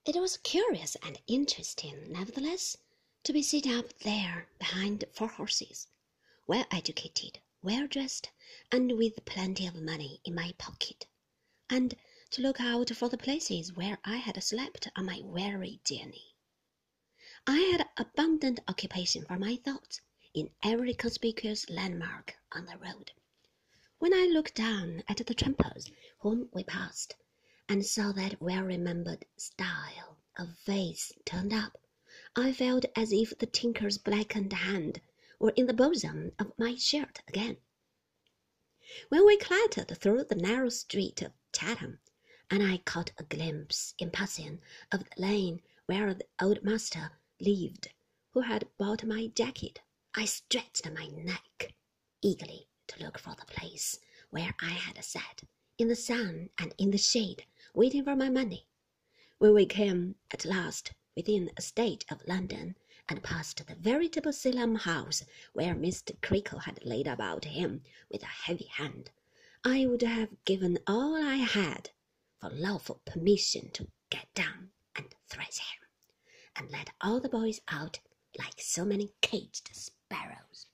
It was curious and interesting, nevertheless, to be sitting up there behind 4 horses, well educated, well dressed, and with plenty of money in my pocket, and to look out for the places where I had slept on my weary journey. I had abundant occupation for my thoughts in every conspicuous landmark on the road. When I looked down at the trampers whom we passed, and saw that well-remembered style of face turned up, I felt as if the tinker's blackened hand were in the bosom of my shirt again. When we clattered through the narrow street of Chatham, and I caught a glimpse in passing of the lane where the old master lived who had bought my jacket, I stretched my neck eagerly to look for the place where I had sat in the sun and in the shade, waiting for my money. When we came at last within a stage of London, and passed the veritable Salem house where Mr. Creakle had laid about him with a heavy hand, I would have given all I had for lawful permission to get down and thrash him, and let all the boys out like so many caged sparrows.